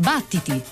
Battiti!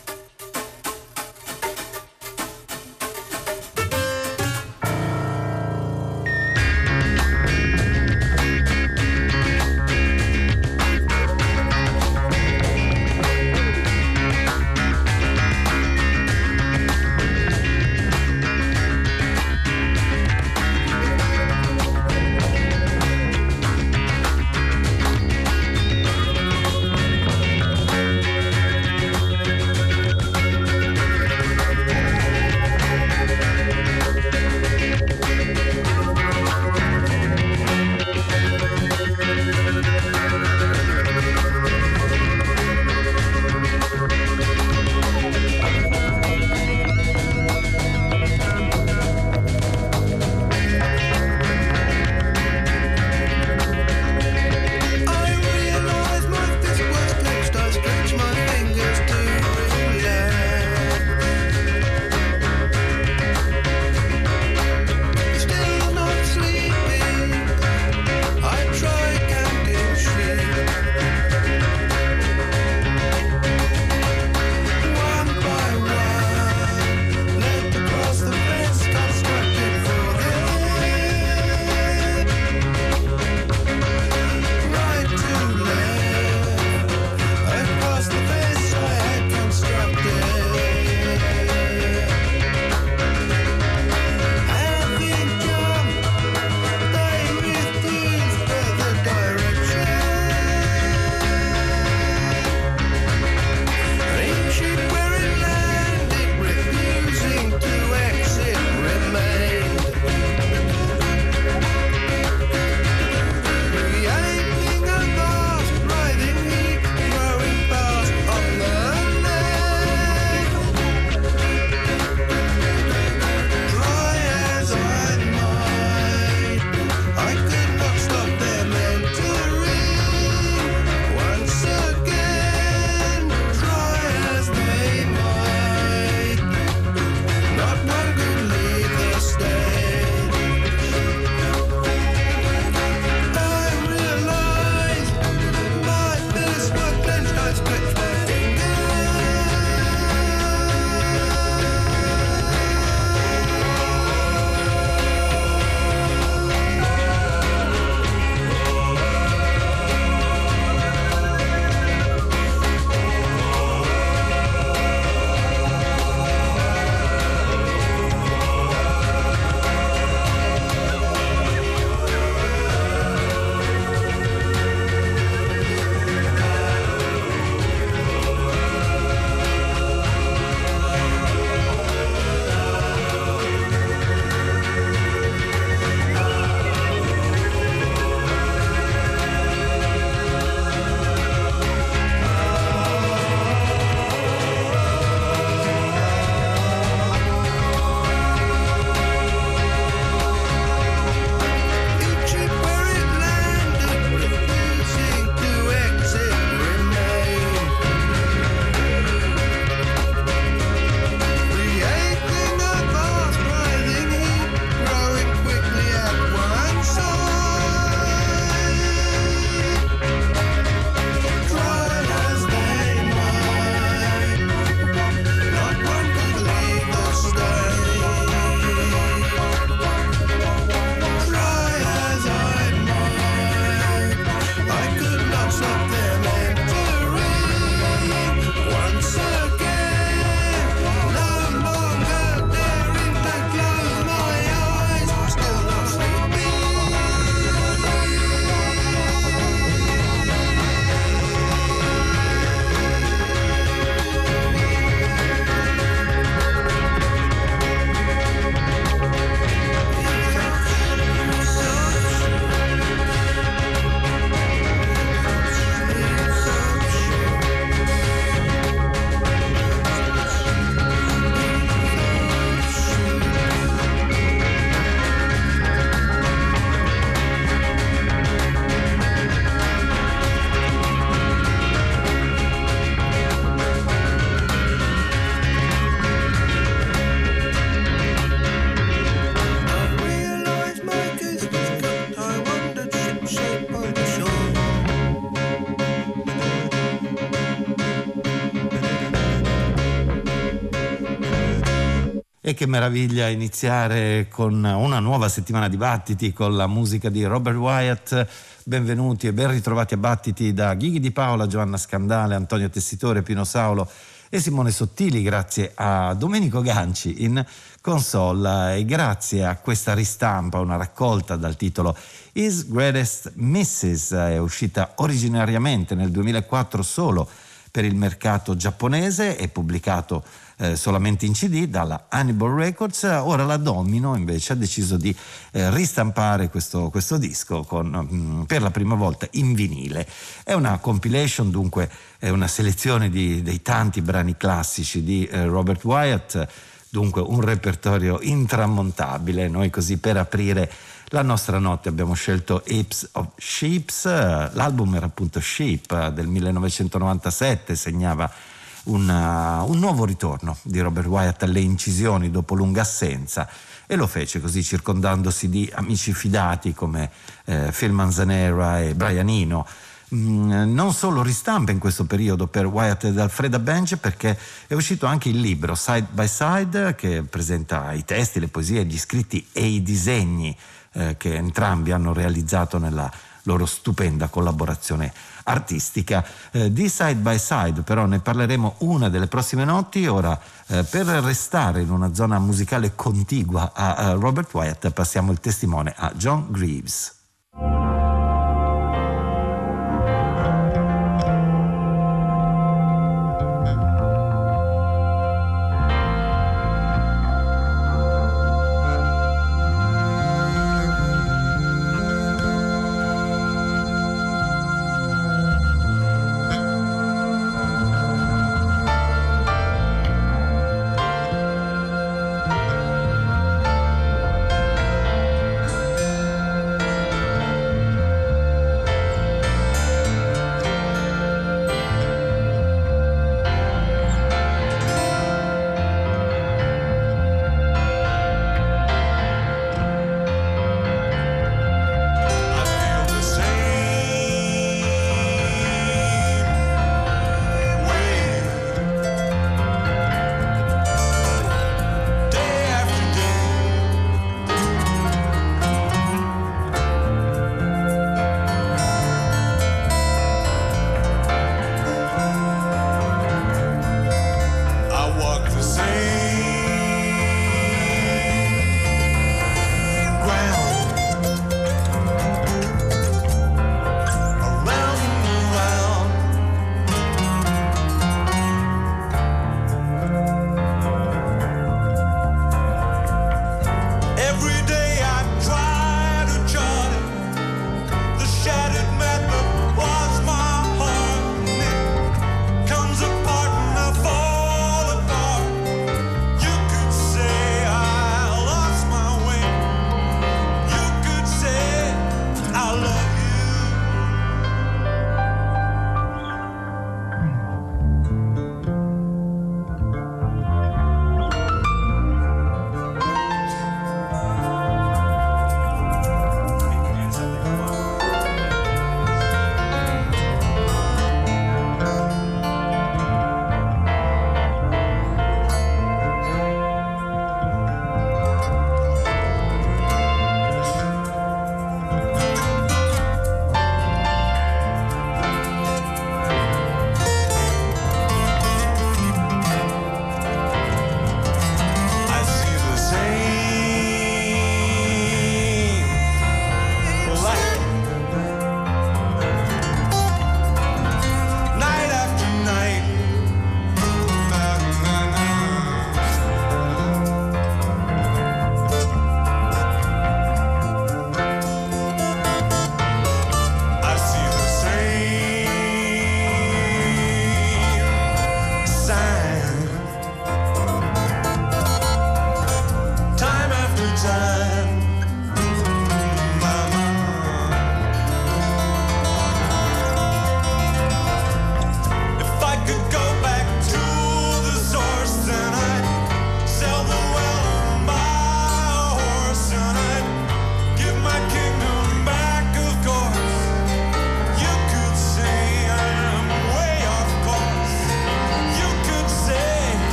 E che meraviglia iniziare con una nuova settimana di Battiti con la musica di Robert Wyatt. Benvenuti e ben ritrovati a Battiti da Ghighi Di Paola, Giovanna Scandale, Antonio Tessitore, Pino Saulo e Simone Sottili, grazie a Domenico Ganci in console e grazie a questa ristampa, una raccolta dal titolo His Greatest Misses, è uscita originariamente nel 2004 solo per il mercato giapponese e pubblicato solamente in CD dalla Hannibal Records. Ora la Domino invece ha deciso di ristampare questo disco per la prima volta in vinile. È una compilation, dunque è una selezione dei tanti brani classici di Robert Wyatt, dunque un repertorio intramontabile. Noi così per aprire la nostra notte abbiamo scelto Apes of Sheeps, l'album era appunto Sheep del 1997, segnava un nuovo ritorno di Robert Wyatt alle incisioni dopo lunga assenza, e lo fece così circondandosi di amici fidati come Phil Manzanera e Brian Eno. Non solo ristampa in questo periodo per Wyatt ed Alfreda Bench, perché è uscito anche il libro Side by Side, che presenta i testi, le poesie, gli scritti e i disegni che entrambi hanno realizzato nella loro stupenda collaborazione artistica. Di Side by Side però ne parleremo una delle prossime notti. Ora per restare in una zona musicale contigua a Robert Wyatt passiamo il testimone a John Greaves.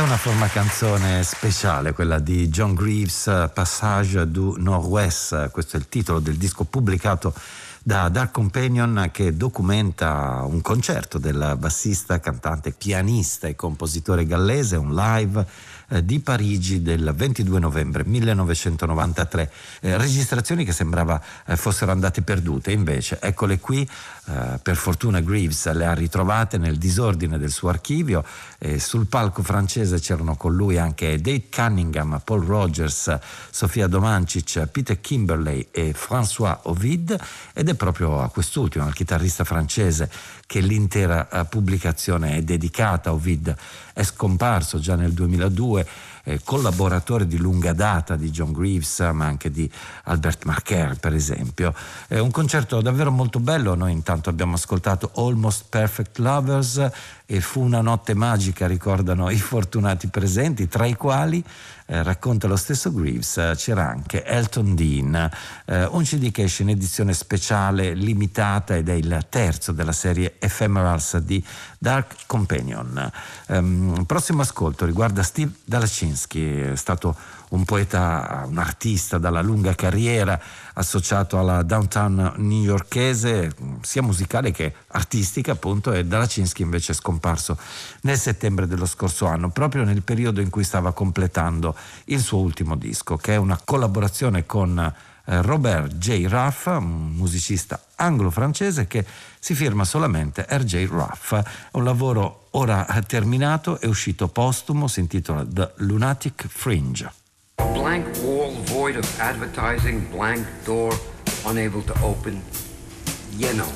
una forma canzone speciale, quella di John Greaves, Passage du Nord-Ouest. Questo è il titolo del disco pubblicato da Dark Companion, che documenta un concerto del bassista, cantante, pianista e compositore gallese, un live di Parigi del 22 novembre 1993. Registrazioni che sembrava fossero andate perdute, invece eccole qui. Per fortuna Greaves le ha ritrovate nel disordine del suo archivio. Sul palco francese c'erano con lui anche Dave Cunningham, Paul Rogers, Sofia Domancic, Peter Kimberley e François Ovid, ed è proprio a quest'ultimo, al chitarrista francese, che l'intera pubblicazione è dedicata. Ovid è scomparso già nel 2002, collaboratore di lunga data di John Greaves, ma anche di Albert Marquer, per esempio. È un concerto davvero molto bello. Noi intanto abbiamo ascoltato Almost Perfect Lovers e Fu una notte magica, ricordano i fortunati presenti, tra i quali, racconta lo stesso Greaves, c'era anche Elton Dean. Un CD che esce in edizione speciale limitata ed è il terzo della serie Ephemerals di Dark Companion. Prossimo ascolto riguarda Steve Dalachinsky. È stato un poeta, un artista dalla lunga carriera, associato alla downtown newyorkese, sia musicale che artistica, appunto, e Dalachinsky invece è scomparso nel settembre dello scorso anno, proprio nel periodo in cui stava completando il suo ultimo disco, che è una collaborazione con Robert J. Ruff, un musicista anglo-francese che si firma solamente R.J. Ruff. È un lavoro ora terminato, è uscito postumo, si intitola The Lunatic Fringe. A blank wall void of advertising, blank door unable to open. Yenome.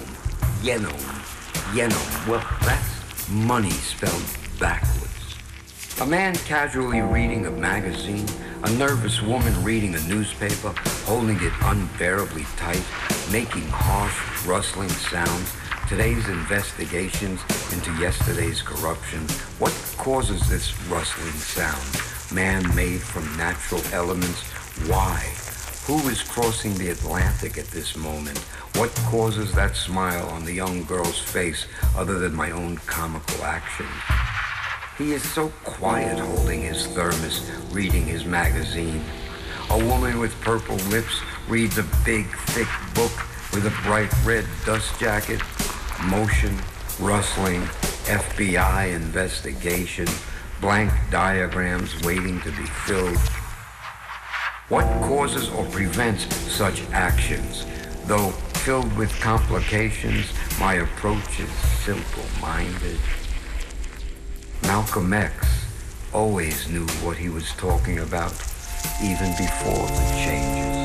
Well, that's money spelled backwards. A man casually reading a magazine, a nervous woman reading a newspaper, holding it unbearably tight, making harsh, rustling sounds. Today's investigations into yesterday's corruption. What causes this rustling sound? Man-made from natural elements. Why? Who is crossing the Atlantic at this moment? What causes that smile on the young girl's face other than my own comical action? He is so quiet holding his thermos, reading his magazine. A woman with purple lips reads a big, thick book with a bright red dust jacket. Motion, rustling, FBI investigation, blank diagrams waiting to be filled. What causes or prevents such actions? Though filled with complications, my approach is simple-minded. Malcolm X always knew what he was talking about, even before the changes.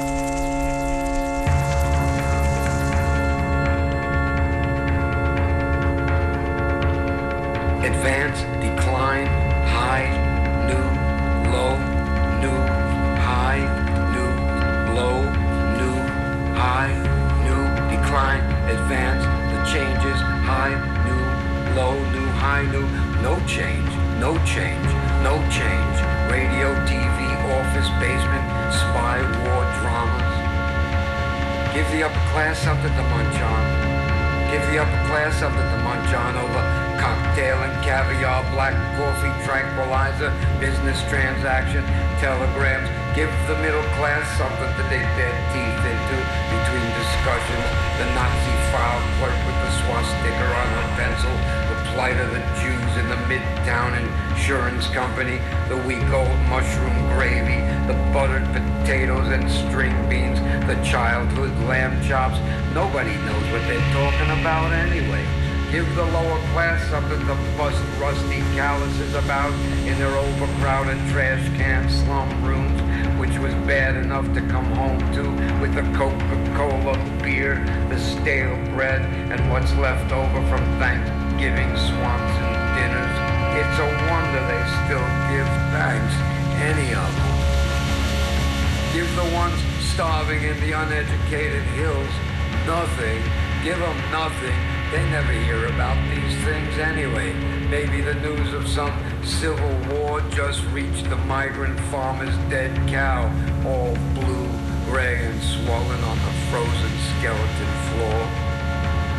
Advance, decline, high, new, low, new, high, new, low, new, high, new, decline, advance, the changes, high, new, low, new, high, new, no change, no change, no change. Radio, TV, office, basement, spy, war, dramas. Give the upper class something to munch on. Give the upper class something to munch on over cocktail and caviar, black coffee, tranquilizer, business transaction, telegrams. Give the middle class something to dig their teeth into between discussions. The Nazi file clerk with the swastika on her pencil, the plight of the Jews in the Midtown Insurance Company, the week-old mushroom gravy, the buttered potatoes and string beans, the childhood lamb chops. Nobody knows what they're talking about anyway. Give the lower class something to bust rusty calluses about in their overcrowded trash can slum rooms, which was bad enough to come home to with the Coca-Cola beer, the stale bread, and what's left over from Thanksgiving Swanson dinners. It's a wonder they still give thanks, any of them. Give the ones starving in the uneducated hills nothing. Give them nothing. They never hear about these things anyway. Maybe the news of some civil war just reached the migrant farmer's dead cow, all blue, gray, and swollen on the frozen skeleton floor.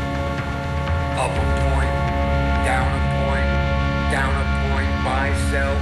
Up a point, down a point, down a point, buy, sell,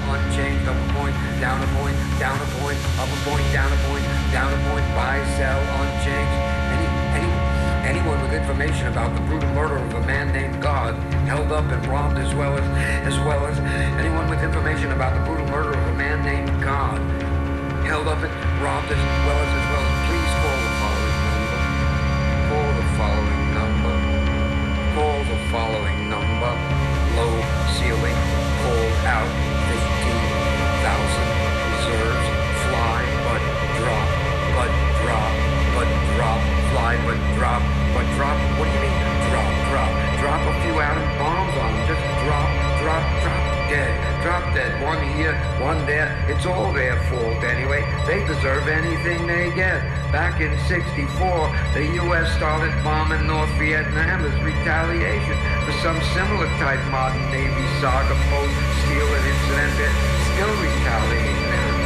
down a point, buy, sell, unchanged. Anyone with information about the brutal murder of a man named God, held up and robbed, as well as anyone with information about the brutal murder of a man named God, held up and robbed, as well as please call the following number. Call the following number. Call the following number. Low ceiling, cold out, 15,000 reserves, fly but drop, but drop, but drop, fly but drop, but drop. What do you mean drop? Drop a few atom bombs on them. Just drop dead. Drop dead. One here, one there. It's all their fault anyway. They deserve anything they get. Back in '64, the U.S. started bombing North Vietnam as retaliation for some similar type modern Navy saga, post-Steele incident. They're still retaliating.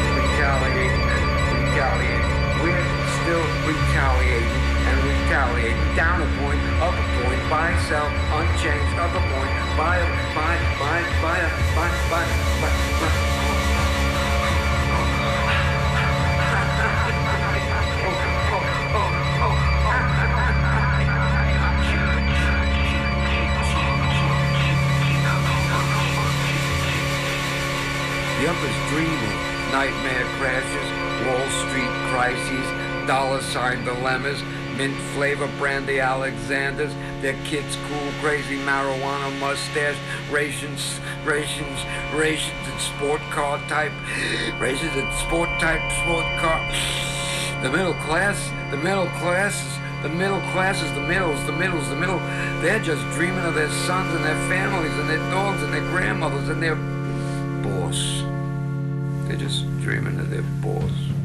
We're still retaliating. Down a point, up a point, buy, sell, unchanged, up a point, buy. The upper's dreaming, nightmare crashes, Wall Street crises, dollar sign dilemmas, mint flavor brandy Alexanders, their kids cool, crazy marijuana mustache, rations in sport car type, sport car. The middle classes, they're just dreaming of their sons and their families and their dogs and their grandmothers and their boss. They're just dreaming of their boss.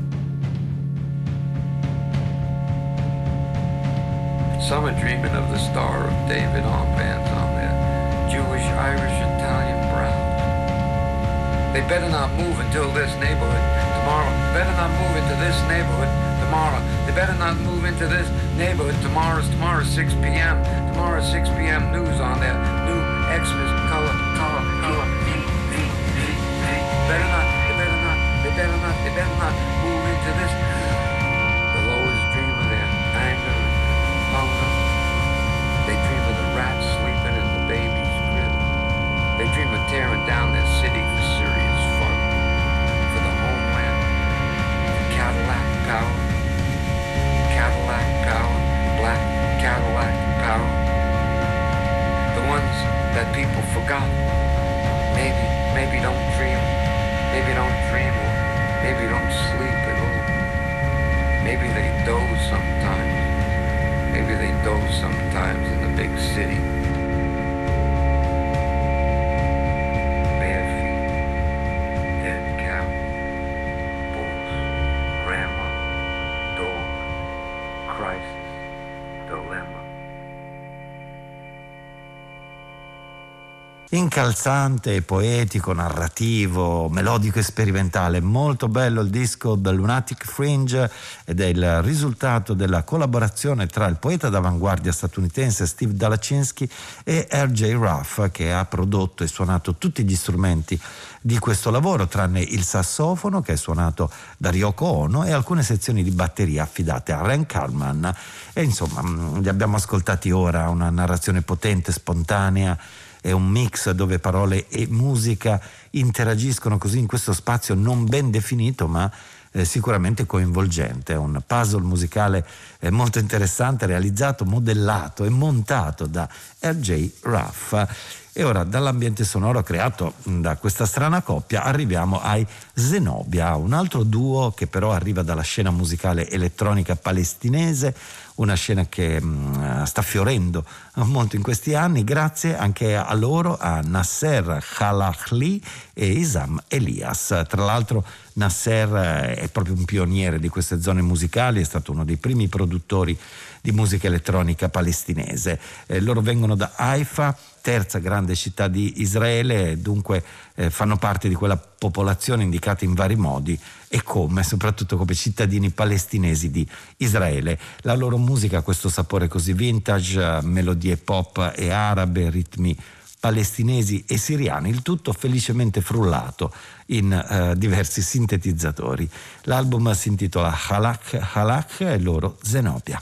Some are dreaming of the Star of David armbands on their Jewish, Irish, Italian brown. They better not move until this neighborhood tomorrow. Better not move into this neighborhood tomorrow. They better not move into this neighborhood tomorrow. Tomorrow 6 p.m. Tomorrow 6 p.m. news on their new Xmas color. They better not move into this. The lowest dream of their anger and hunger. They dream of the rats sleeping in the baby's crib. They dream of tearing down their city for serious fun. For the homeland. Cadillac power. Black Cadillac power. The ones that people forgot. Maybe don't dream. Maybe don't dream, or maybe don't sleep at all. Maybe they doze sometimes. Maybe they doze sometimes in the big city. Bare feet, dead cow, bulls, grandma, dog, crisis, dilemma. Incalzante, poetico, narrativo, melodico e sperimentale. Molto bello il disco The Lunatic Fringe ed è il risultato della collaborazione tra il poeta d'avanguardia statunitense Steve Dalachinsky e R.J. Ruff, che ha prodotto e suonato tutti gli strumenti di questo lavoro, tranne il sassofono che è suonato da Ryoko Ono e alcune sezioni di batteria affidate a Ren Kalman. E insomma, li abbiamo ascoltati ora, una narrazione potente, spontanea. È un mix dove parole e musica interagiscono così in questo spazio non ben definito, ma sicuramente coinvolgente. È un puzzle musicale molto interessante, realizzato, modellato e montato da R.J. Ruff. E ora, dall'ambiente sonoro creato da questa strana coppia, arriviamo ai Zenobia, un altro duo che però arriva dalla scena musicale elettronica palestinese, una scena che sta fiorendo molto in questi anni, grazie anche a loro, a Nasser Khalahli e Isam Elias. Tra l'altro Nasser è proprio un pioniere di queste zone musicali, è stato uno dei primi produttori di musica elettronica palestinese. Loro vengono da Haifa, terza grande città di Israele, dunque fanno parte di quella popolazione indicata in vari modi e soprattutto come cittadini palestinesi di Israele. La loro musica ha questo sapore così vintage, melodie pop e arabe, ritmi palestinesi e siriani, il tutto felicemente frullato in diversi sintetizzatori. L'album si intitola Halak Halak e loro Zenobia.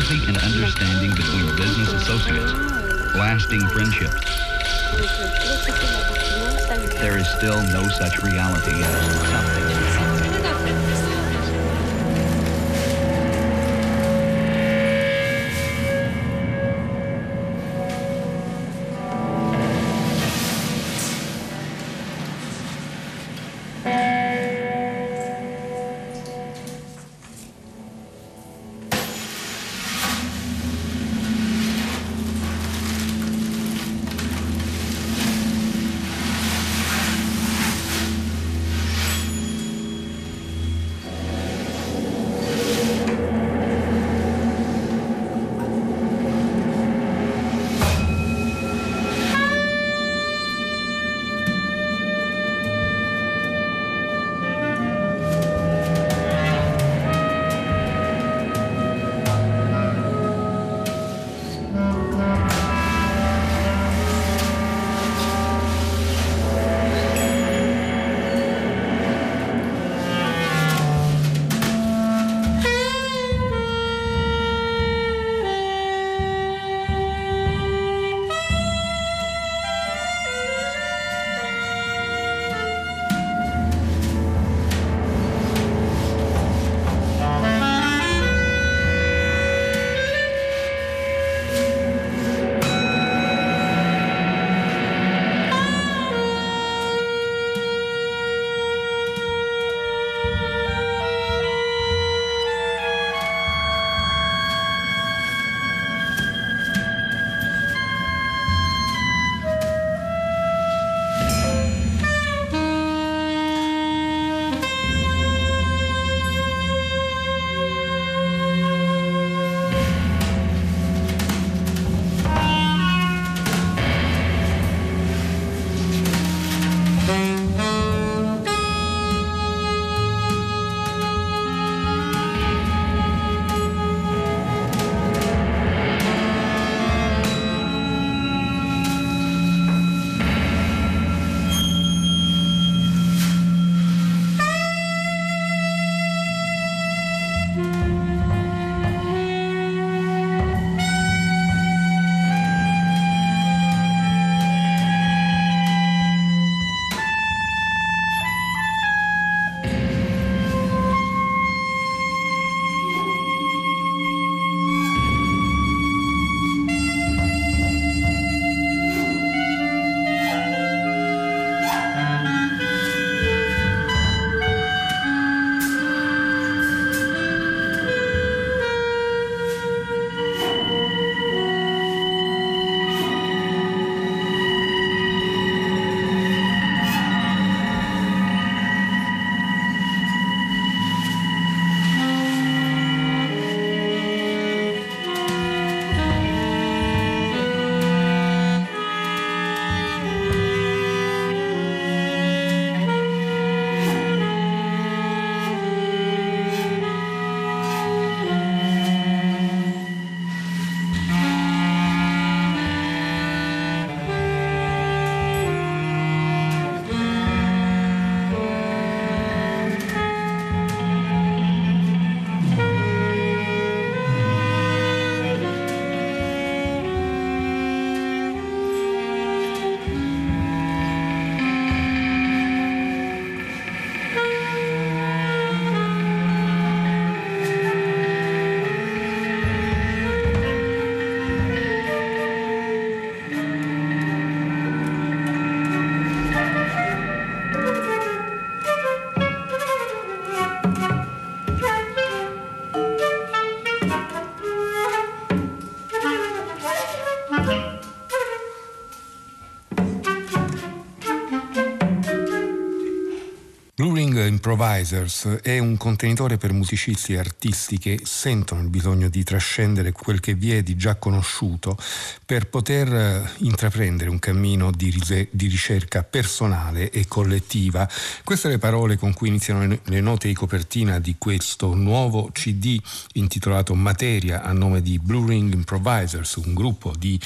sympathy and understanding between business associates, lasting friendships. There is still no such reality as something. Improvisers è un contenitore per musicisti e artisti che sentono il bisogno di trascendere quel che vi è di già conosciuto per poter intraprendere un cammino di ricerca personale e collettiva. Queste le parole con cui iniziano le note di copertina di questo nuovo CD intitolato Materia, a nome di Blue Ring Improvisers, un gruppo di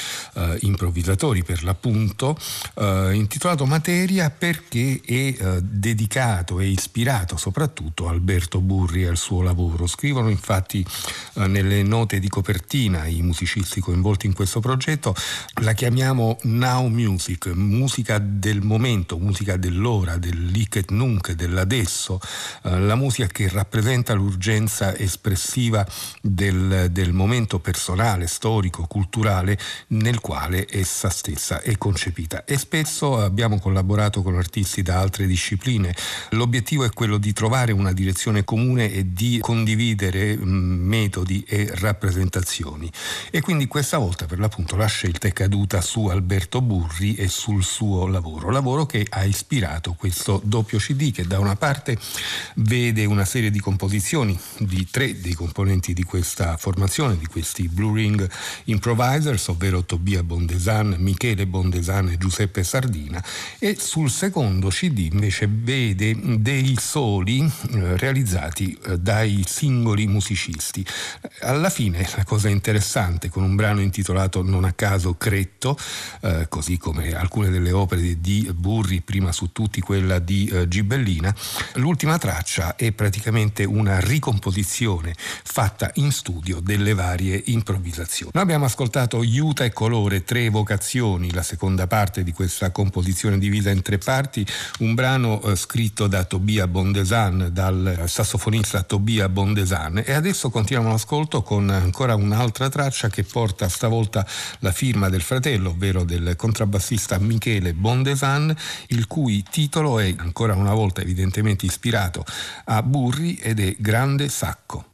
improvvisatori per l'appunto, intitolato Materia perché è dedicato ispirato e ispirato soprattutto Alberto Burri e al suo lavoro. Scrivono infatti nelle note di copertina i musicisti coinvolti in questo progetto, la chiamiamo now music, musica del momento, musica dell'ora, del lic et nunc, dell'adesso, la musica che rappresenta l'urgenza espressiva del momento personale, storico, culturale nel quale essa stessa è concepita. E spesso abbiamo collaborato con artisti da altre discipline. L'obiettivo è quello di trovare una direzione comune e di condividere metodi e rappresentazioni. E quindi questa volta per l'appunto la scelta è caduta su Alberto Burri e sul suo lavoro che ha ispirato questo doppio CD, che da una parte vede una serie di composizioni di 3 dei componenti di questa formazione, di questi Blue Ring Improvisers, ovvero Tobia Bondesan, Michele Bondesan e Giuseppe Sardina, e sul secondo CD invece vede dei soli realizzati dai singoli musicisti. Alla fine la cosa interessante, con un brano intitolato non a caso Cretto, così come alcune delle opere di Burri, prima su tutti quella di Gibellina, l'ultima traccia è praticamente una ricomposizione fatta in studio delle varie improvvisazioni. Noi abbiamo ascoltato Iuta e Colore, 3 vocazioni, la seconda parte di questa composizione divisa in 3 parti, un brano scritto da Tobia Bondesan, dal sassofonista Tobia Bondesan, e adesso continuiamo l'ascolto con ancora un'altra traccia che porta stavolta la firma del fratello, ovvero del contrabbassista Michele Bondesan, il cui titolo è ancora una volta evidentemente ispirato a Burri ed è Grande Sacco.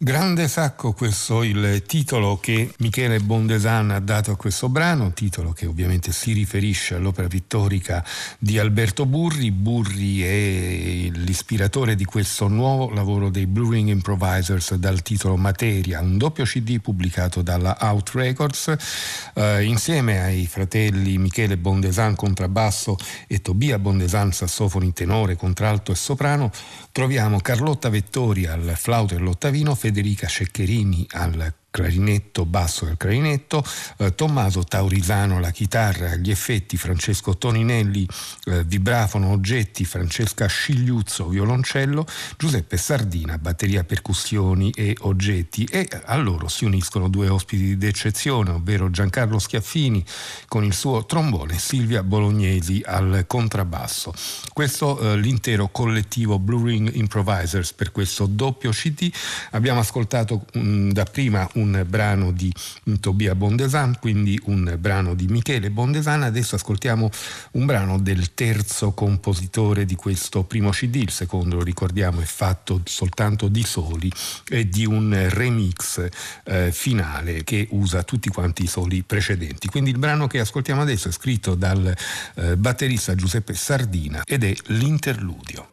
Grande Sacco, questo il titolo che Michele Bondesan ha dato a questo brano, titolo che ovviamente si riferisce all'opera pittorica di Alberto Burri. Burri è l'ispiratore di questo nuovo lavoro dei Blue Ring Improvisers dal titolo Materia, un doppio CD pubblicato dalla Out Records, insieme ai fratelli Michele Bondesan contrabbasso e Tobia Bondesan sassofoni tenore, contralto e soprano. Troviamo Carlotta Vettori al flauto e all'ottavino, Federica Ceccherini al clarinetto, basso e al clarinetto, Tommaso Taurisano alla chitarra, agli effetti, Francesco Toninelli vibrafono, oggetti, Francesca Scigliuzzo violoncello, Giuseppe Sardina batteria, percussioni e oggetti, e a loro si uniscono due ospiti d'eccezione, ovvero Giancarlo Schiaffini con il suo trombone e Silvia Bolognesi al contrabbasso. Questo l'intero collettivo Blue Ring Improvisers per questo doppio CD. Abbiamo ascoltato dapprima un brano di Tobia Bondesan, quindi un brano di Michele Bondesan. Adesso ascoltiamo un brano del terzo compositore di questo primo CD. Il secondo, lo ricordiamo, è fatto soltanto di soli e di un remix finale che usa tutti quanti i soli precedenti. Quindi il brano che ascoltiamo adesso è scritto dal batterista Giuseppe Sardina ed è l'interludio.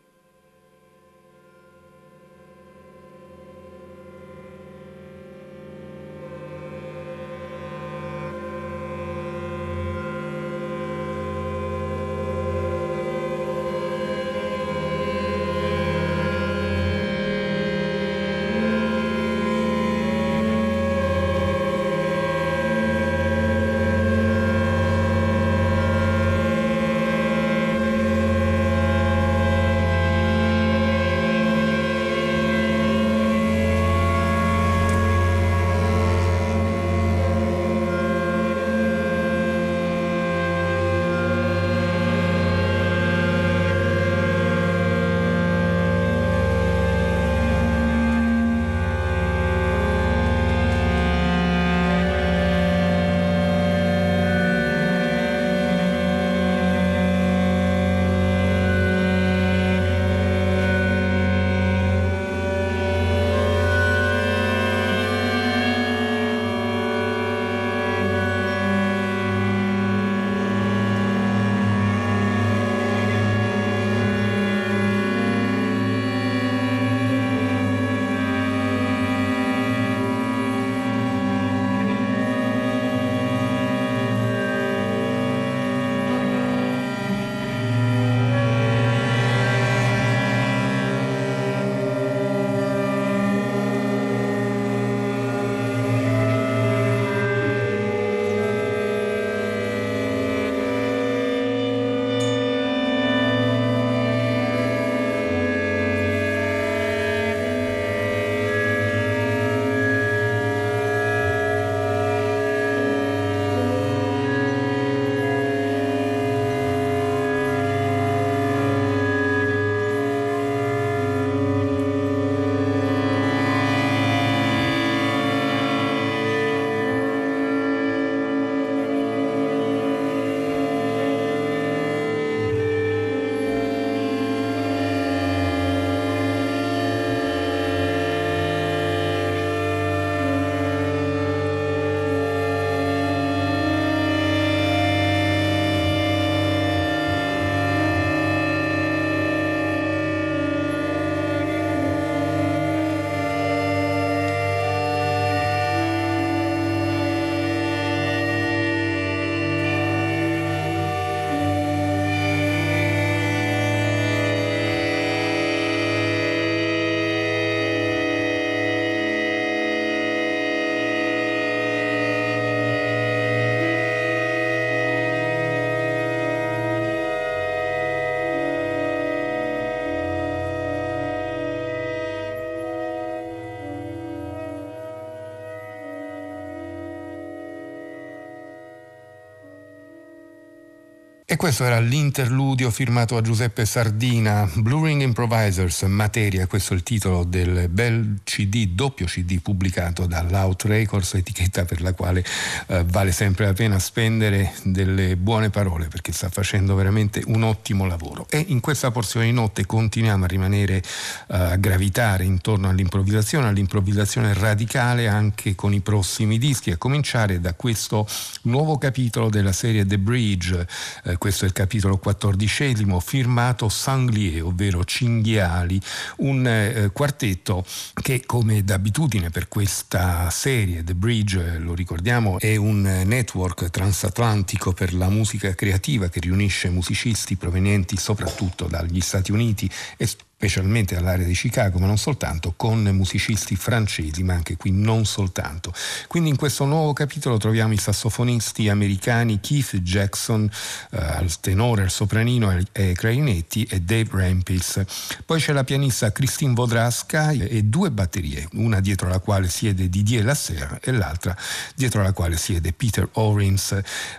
E questo era l'interludio firmato a Giuseppe Sardina, Blue Ring Improvisers, Materia, questo è il titolo del bel CD, doppio CD pubblicato dall'Out Records, etichetta per la quale vale sempre la pena spendere delle buone parole, perché sta facendo veramente un ottimo lavoro. E in questa porzione di notte continuiamo a rimanere a gravitare intorno all'improvvisazione radicale anche con i prossimi dischi, a cominciare da questo nuovo capitolo della serie The Bridge. Questo è il capitolo 14, firmato Sanglier, ovvero Cinghiali, un quartetto che, come d'abitudine per questa serie, The Bridge, lo ricordiamo, è un network transatlantico per la musica creativa che riunisce musicisti provenienti soprattutto dagli Stati Uniti e specialmente dall'area di Chicago, ma non soltanto, con musicisti francesi, ma anche qui non soltanto. Quindi in questo nuovo capitolo troviamo i sassofonisti americani Keith Jackson al tenore, al sopranino e ai clarinetti, e Dave Rampis. Poi c'è la pianista Christine Vodraska e due batterie, una dietro la quale siede Didier Lasserre e l'altra dietro la quale siede Peter Orins.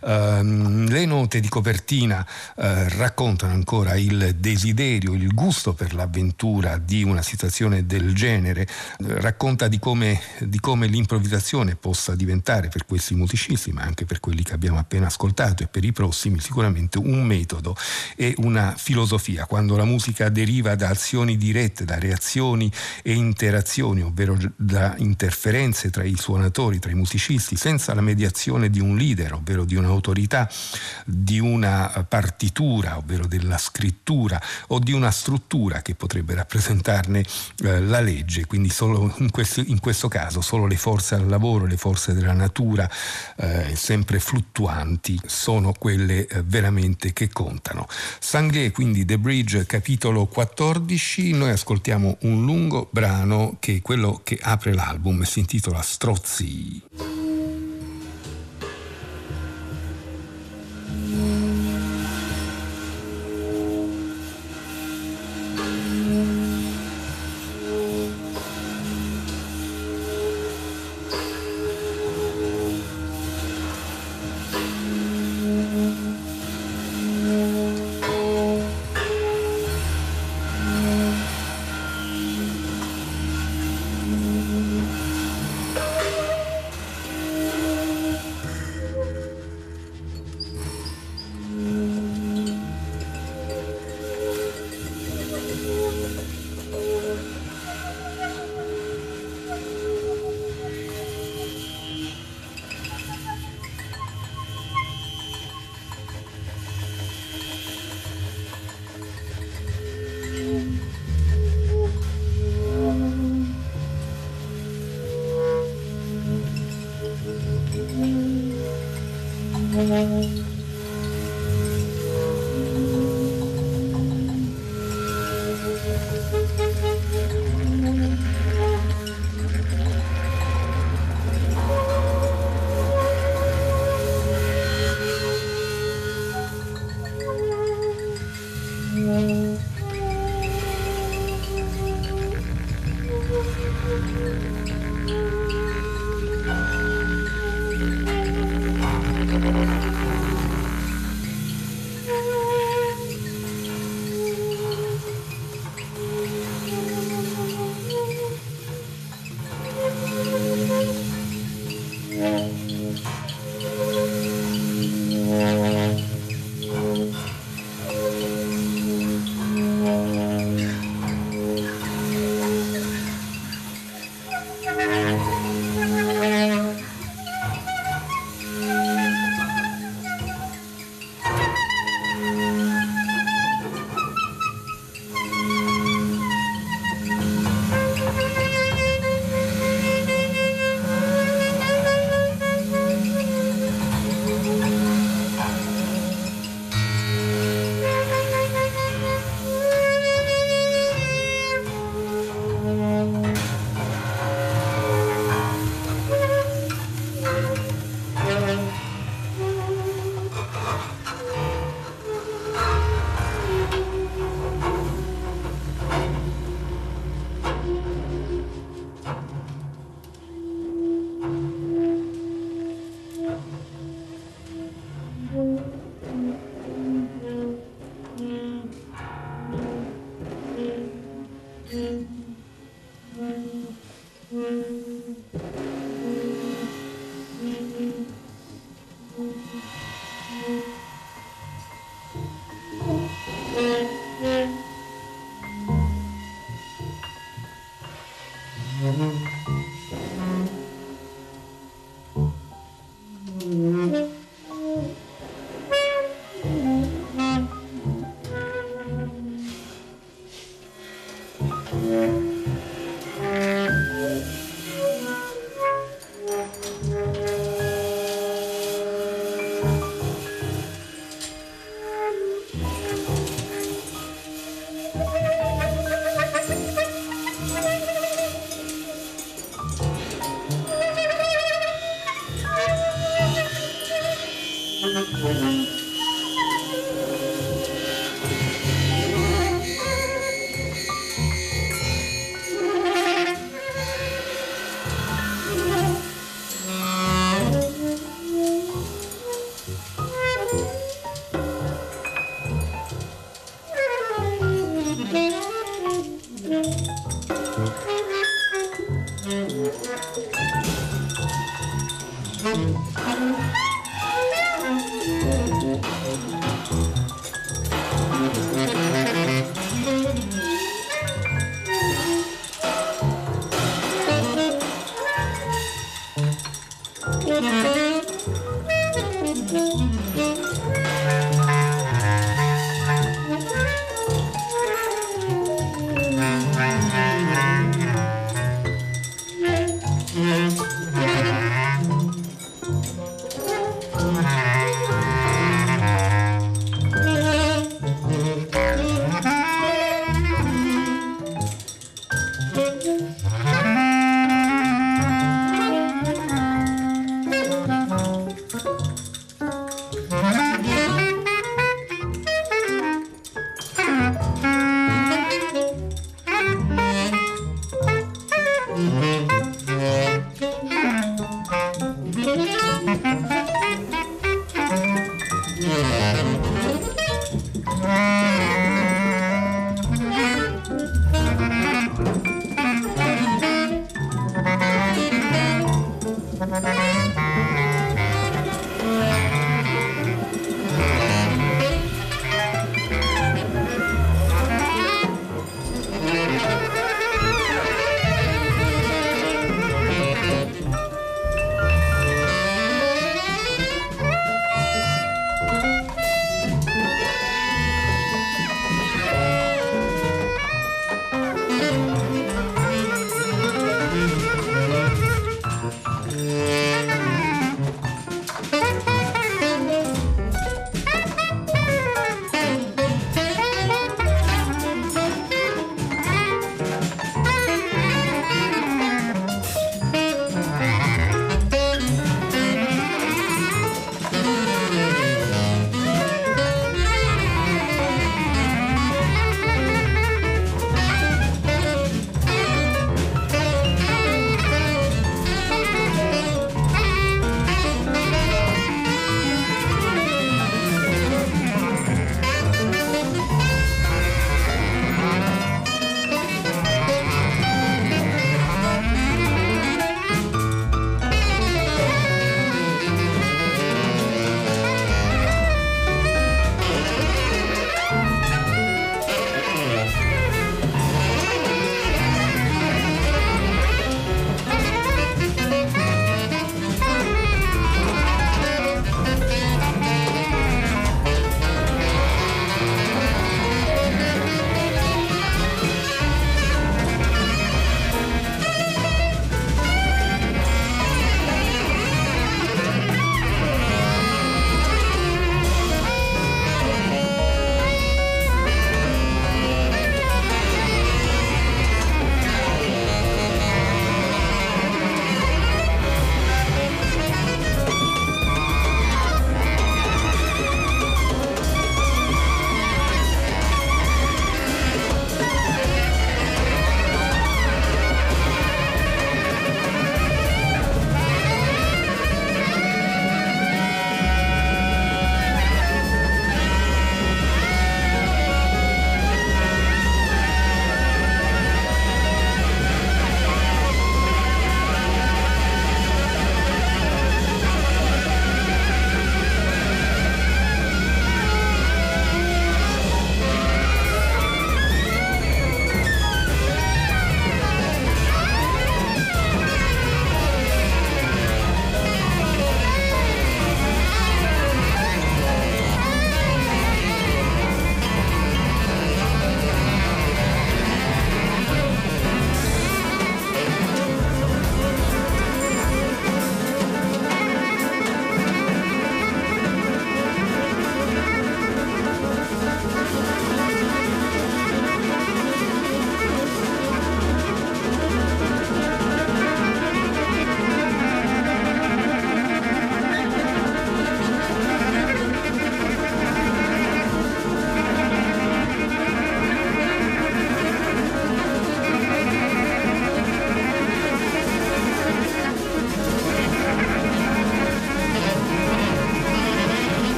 Le note di copertina raccontano ancora il desiderio, il gusto per l'avventura di una situazione del genere, racconta di come l'improvvisazione possa diventare per questi musicisti, ma anche per quelli che abbiamo appena ascoltato e per i prossimi, sicuramente un metodo e una filosofia. Quando la musica deriva da azioni dirette, da reazioni e interazioni, ovvero da interferenze tra i suonatori, tra i musicisti, senza la mediazione di un leader, ovvero di un'autorità, di una partitura, ovvero della scrittura, o di una struttura che potrebbe rappresentarne la legge, quindi solo in questo caso solo le forze al lavoro, le forze della natura sempre fluttuanti sono quelle veramente che contano. Sanglier, quindi The Bridge, capitolo 14. Noi ascoltiamo un lungo brano che è quello che apre l'album, si intitola Strozzi.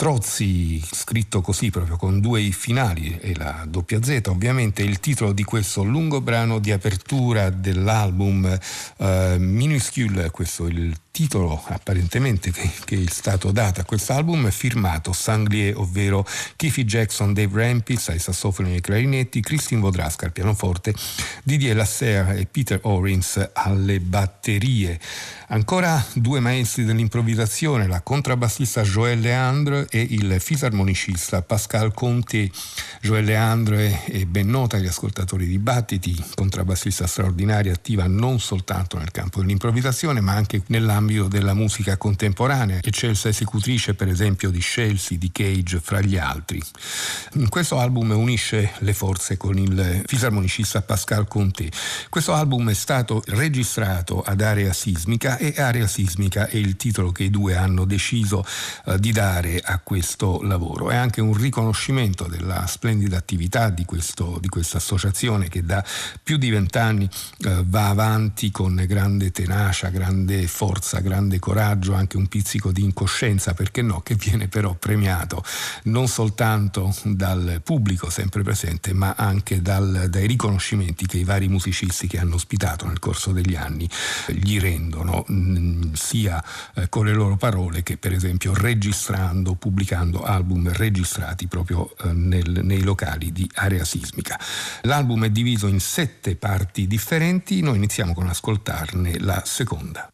Strozzi, scritto così proprio con due i finali e la doppia Z, ovviamente è il titolo di questo lungo brano di apertura dell'album Minuscule. Questo è il titolo apparentemente che è stato dato a quest'album, firmato Sanglier, ovvero Keefe Jackson, Dave Rampis ai sassofoni e ai clarinetti, Christine Vodraska al pianoforte, Didier Lasserre e Peter Orins alle batterie. Ancora due maestri dell'improvvisazione, la contrabbassista Joël Leandre e il fisarmonicista Pascal Conté. Joël Leandre è ben nota agli ascoltatori di Battiti, contrabbassista straordinaria, attiva non soltanto nel campo dell'improvvisazione ma anche nell'ambito della musica contemporanea, eccelsa esecutrice per esempio di Chelsea, di Cage, fra gli altri. In questo album unisce le forze con il fisarmonicista Pascal Conté. Questo album è stato registrato ad Area Sismica e Area Sismica è il titolo che i due hanno deciso di dare a questo lavoro. È anche un riconoscimento della splendida attività di questa associazione che da più di 20 anni va avanti con grande tenacia, grande forza, grande coraggio, anche un pizzico di incoscienza, perché no, che viene però premiato non soltanto dal pubblico sempre presente ma anche dai riconoscimenti che i vari musicisti che hanno ospitato nel corso degli anni gli rendono, sia con le loro parole che per esempio registrando, pubblicando album registrati proprio nei locali di Area Sismica. L'album è diviso in 7 parti differenti, noi iniziamo con ascoltarne la seconda.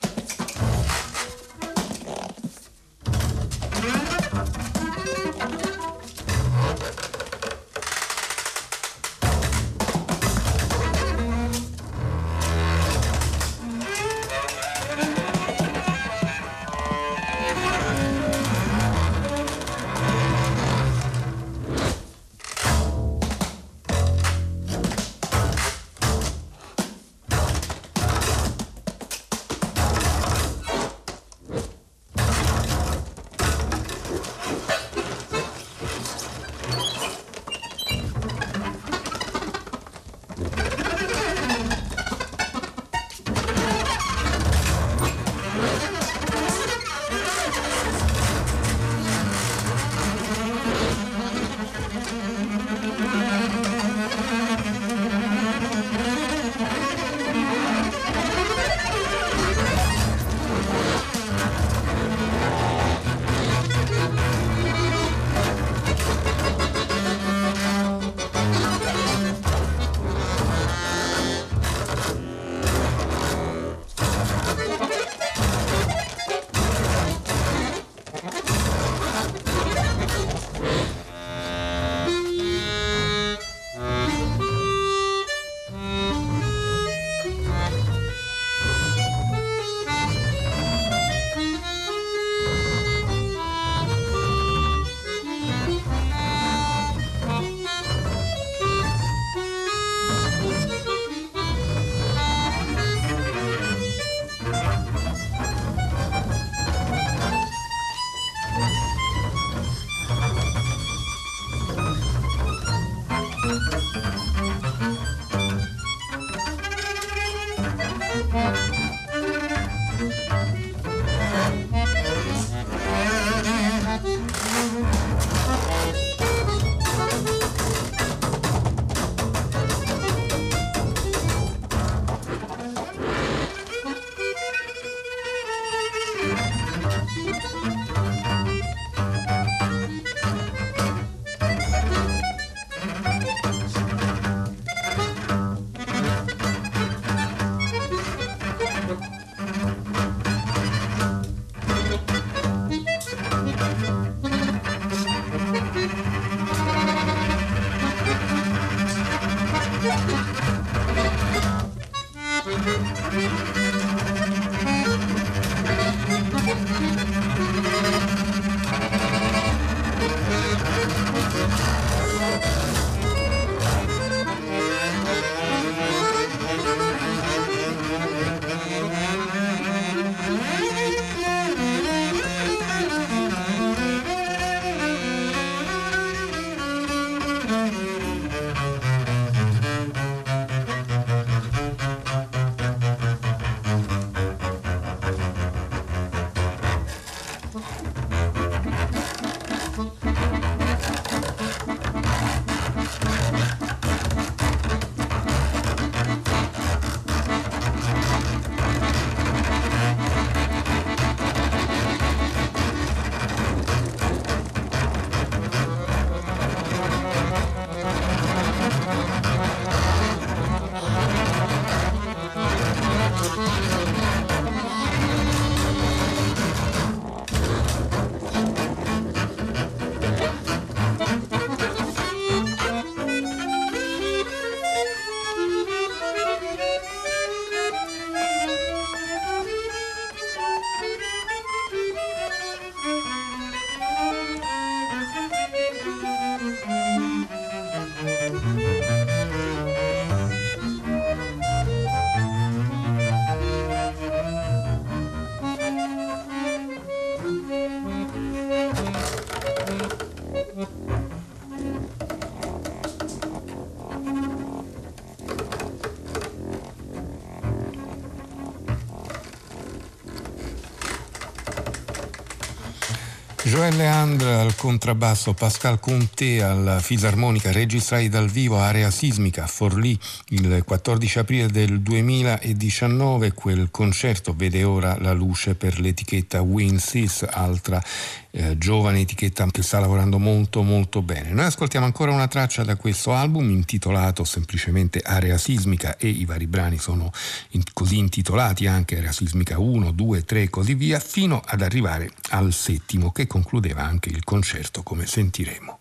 Joël Leandre al contrabbasso, Pascal Comté alla fisarmonica, registrati dal vivo Area Sismica a Forlì il 14 aprile del 2019. Quel concerto vede ora la luce per l'etichetta Winsis, altra giovane etichetta che sta lavorando molto molto bene. Noi ascoltiamo ancora una traccia da questo album intitolato semplicemente Area Sismica, e i vari brani sono così intitolati anche, Area Sismica 1, 2, 3 e così via, fino ad arrivare al settimo, che concludeva anche il concerto, come sentiremo.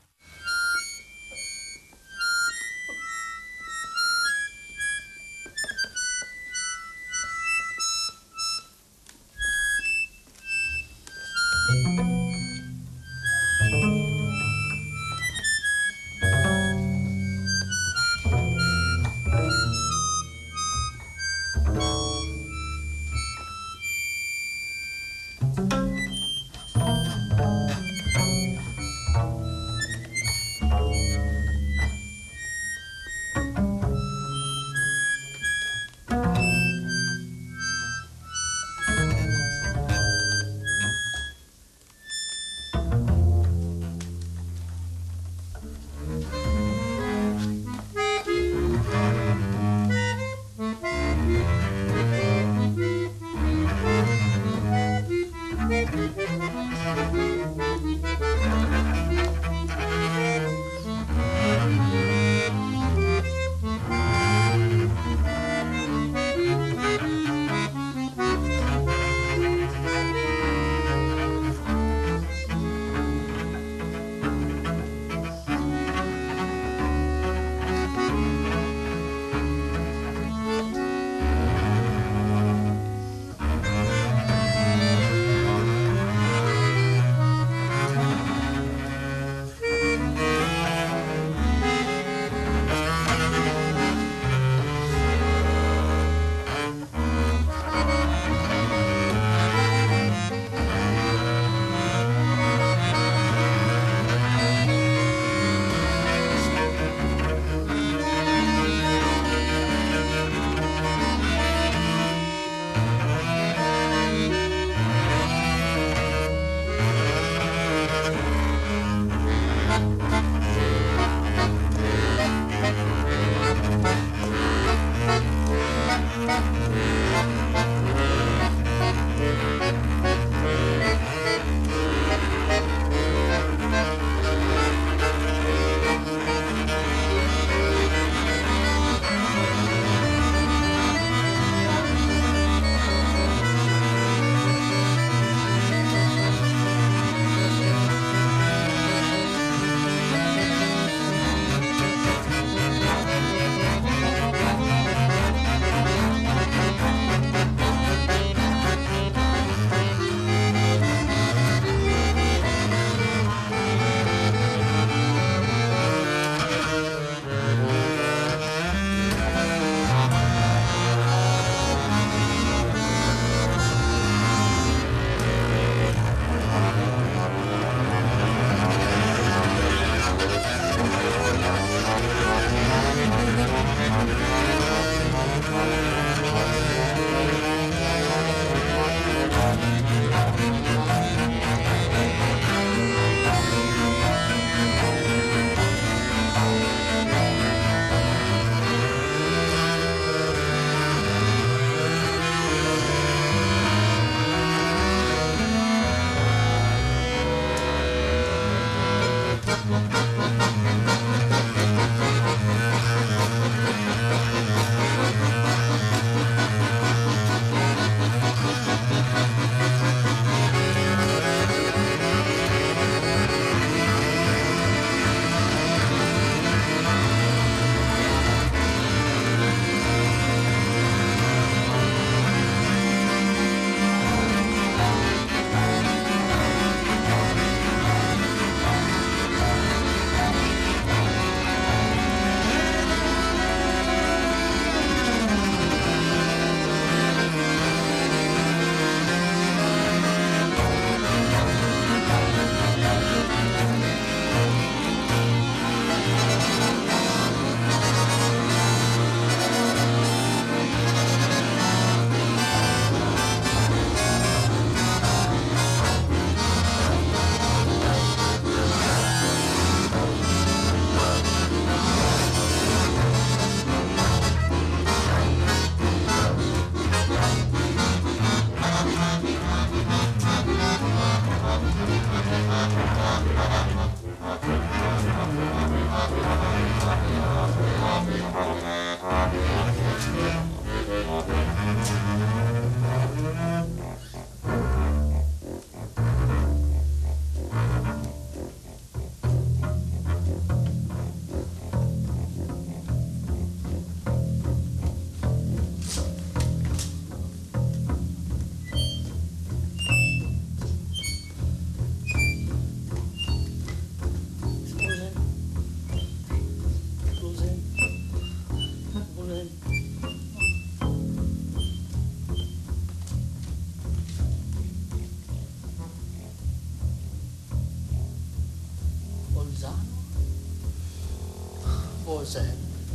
cose.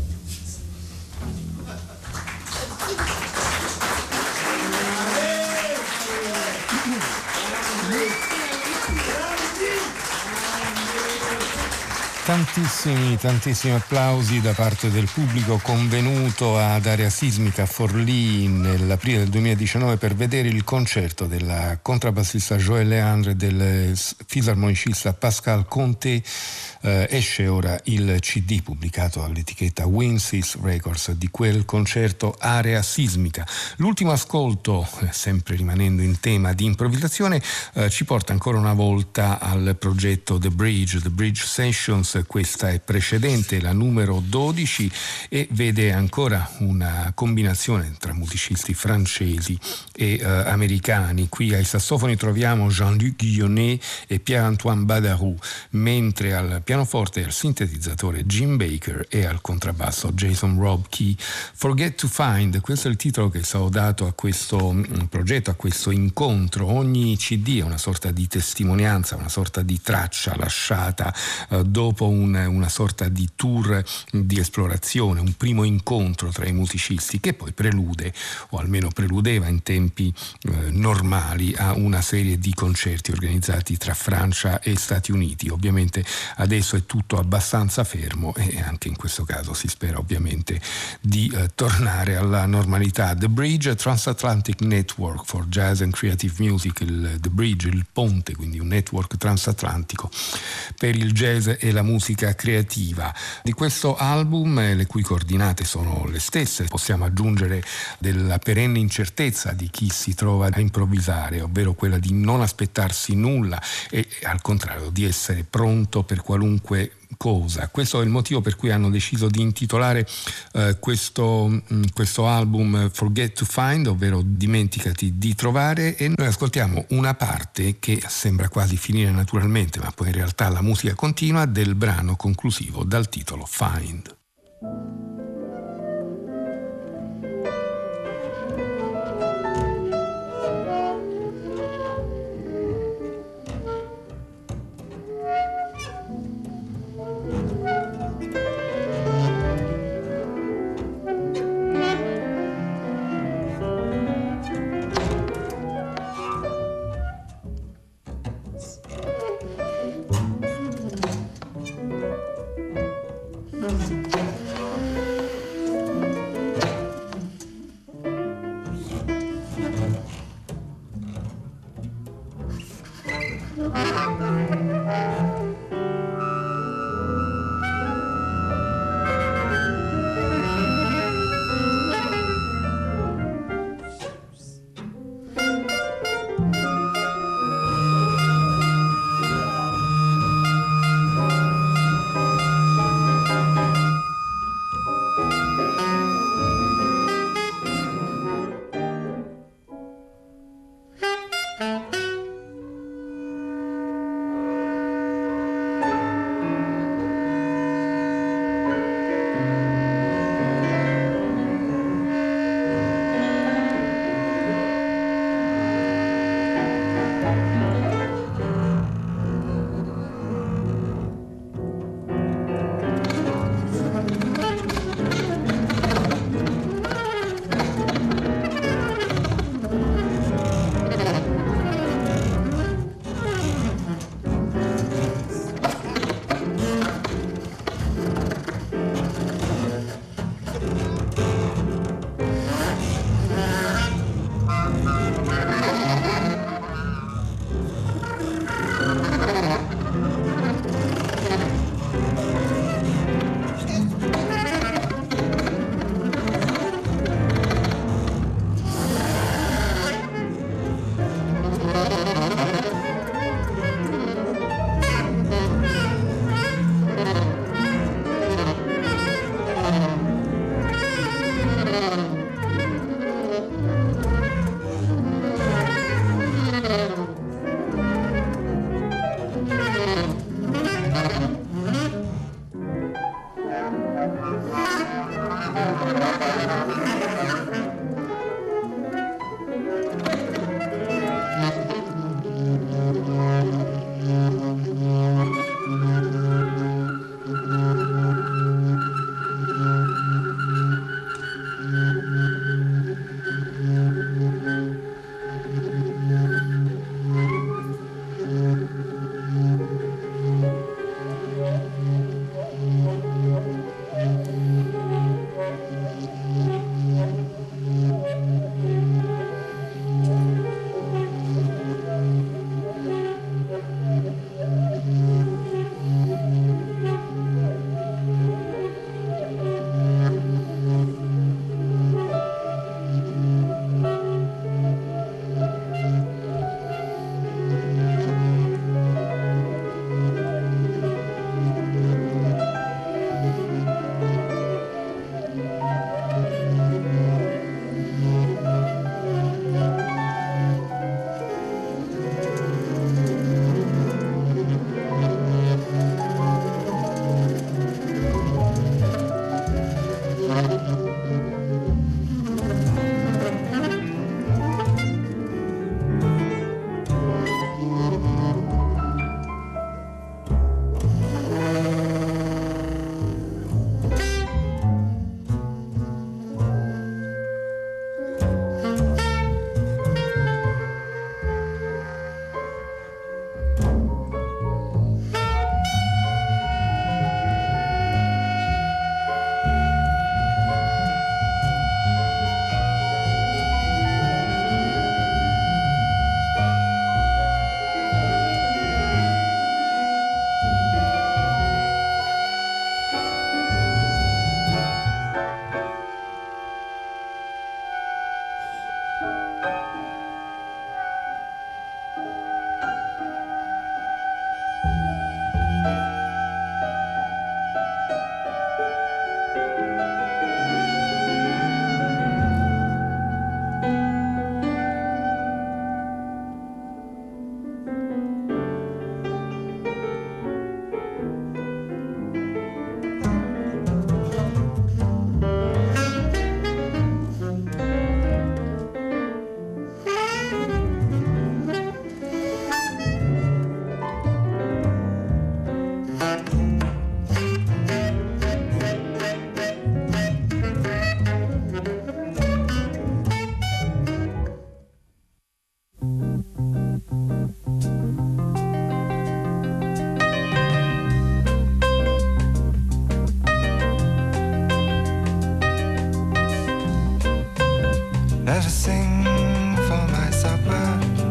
Tantissimi applausi da parte del pubblico convenuto ad Area Sismica Forlì nell'aprile del 2019 per vedere il concerto della contrabbassista Joël Leandre e del fisarmonicista Pascal Conté. Esce ora il CD pubblicato all'etichetta Winsis Records di quel concerto Area Sismica. L'ultimo ascolto, sempre rimanendo in tema di improvvisazione, ci porta ancora una volta al progetto The Bridge Sessions. Questa è precedente, la numero 12, e vede ancora una combinazione tra musicisti francesi e americani. Qui ai sassofoni troviamo Jean-Luc Guillonnet e Pierre-Antoine Badarou, mentre al pianoforte e al sintetizzatore Jim Baker e al contrabbasso Jason Rob Key. Forget to Find, questo è il titolo che è stato dato a questo progetto, a questo incontro. Ogni CD è una sorta di testimonianza, una sorta di traccia lasciata dopo una sorta di tour di esplorazione, un primo incontro tra i musicisti che poi prelude, o almeno preludeva in tempi normali, a una serie di concerti organizzati tra Francia e Stati Uniti. Ovviamente adesso è tutto abbastanza fermo e anche in questo caso si spera ovviamente di tornare alla normalità. The Bridge, Transatlantic Network for Jazz and Creative Music, The Bridge, il ponte, quindi un network transatlantico per il jazz e la musica creativa. Di questo album, le cui coordinate sono le stesse, possiamo aggiungere della perenne incertezza di chi si trova a improvvisare, ovvero quella di non aspettarsi nulla e al contrario di essere pronto per qualunque cosa. Questo è il motivo per cui hanno deciso di intitolare questo album Forget to Find, ovvero dimenticati di trovare, e noi ascoltiamo una parte che sembra quasi finire naturalmente, ma poi in realtà la musica continua, del brano conclusivo dal titolo Find. never sing for my supper.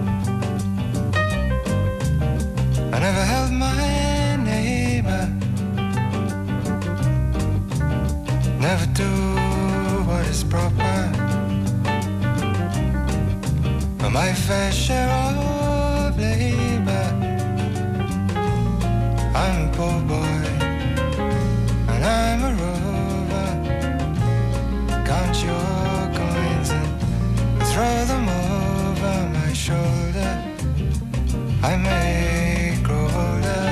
I never held my neighbor, never do what is proper. For my fair share of labor, I'm a poor boy and I'm a rover. Count your coins and throw them over my shoulder. I may grow older.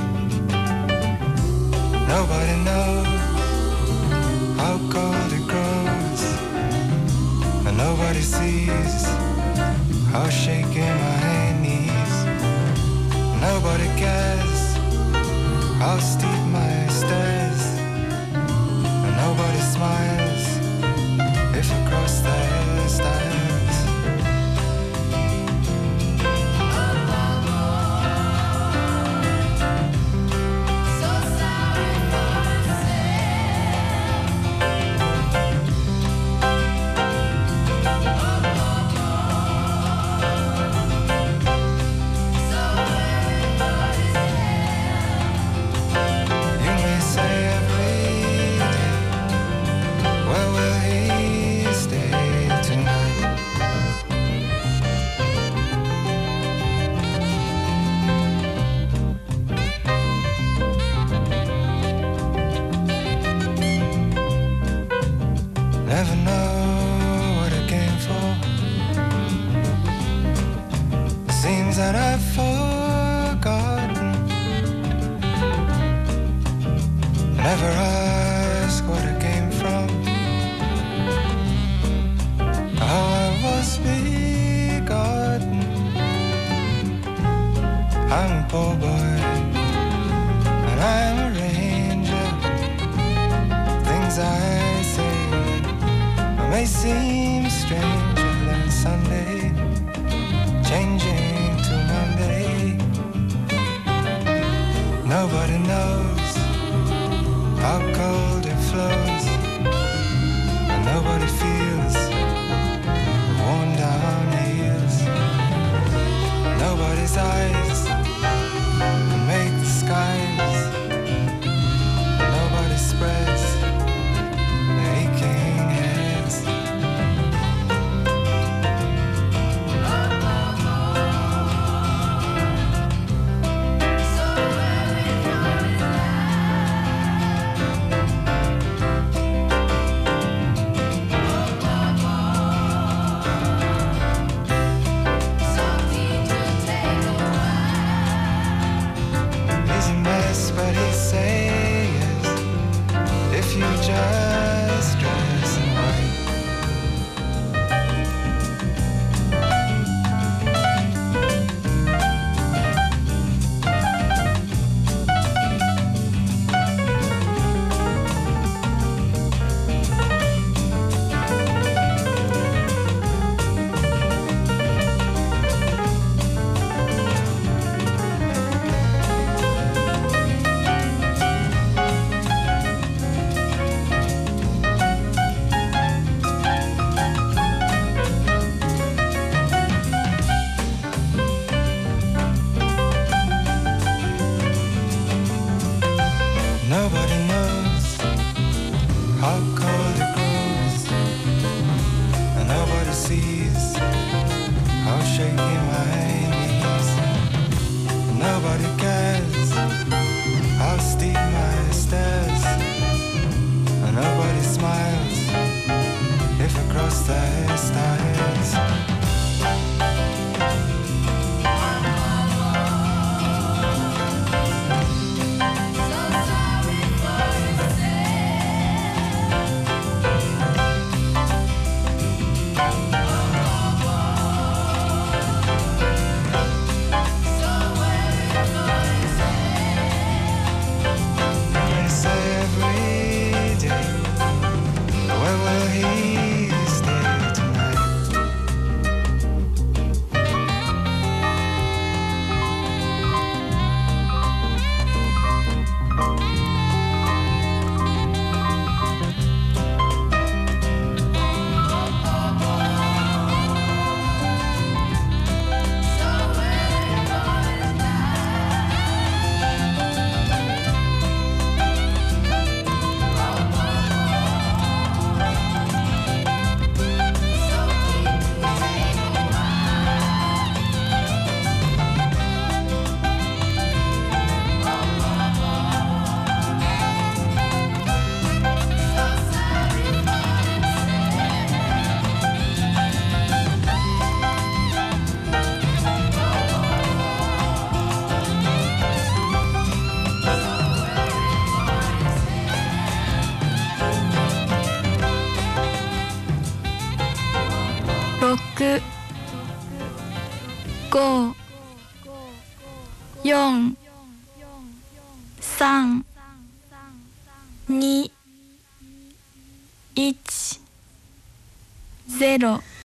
Nobody knows how cold it grows, and nobody sees how shaky my knees. Nobody cares how steep my stairs, and nobody smiles if you cross their stairs. That I've forgotten. Never ask what I came from, how I was begotten. I'm a poor boy and I'm a ranger. Things I say may seem stranger than Sunday, changing. Nobody knows how cold it flows, and nobody feels worn down heels. Nobody's eyes can make the skies. Nobody spreads aching heads. But he says, if you just dress in white. Nobody knows how cold it grows, and nobody sees how shaky my knees. Nobody cares how steep my stairs, and nobody smiles if I cross their stairs. Where will he stay tonight? 5、4、3、2、1、0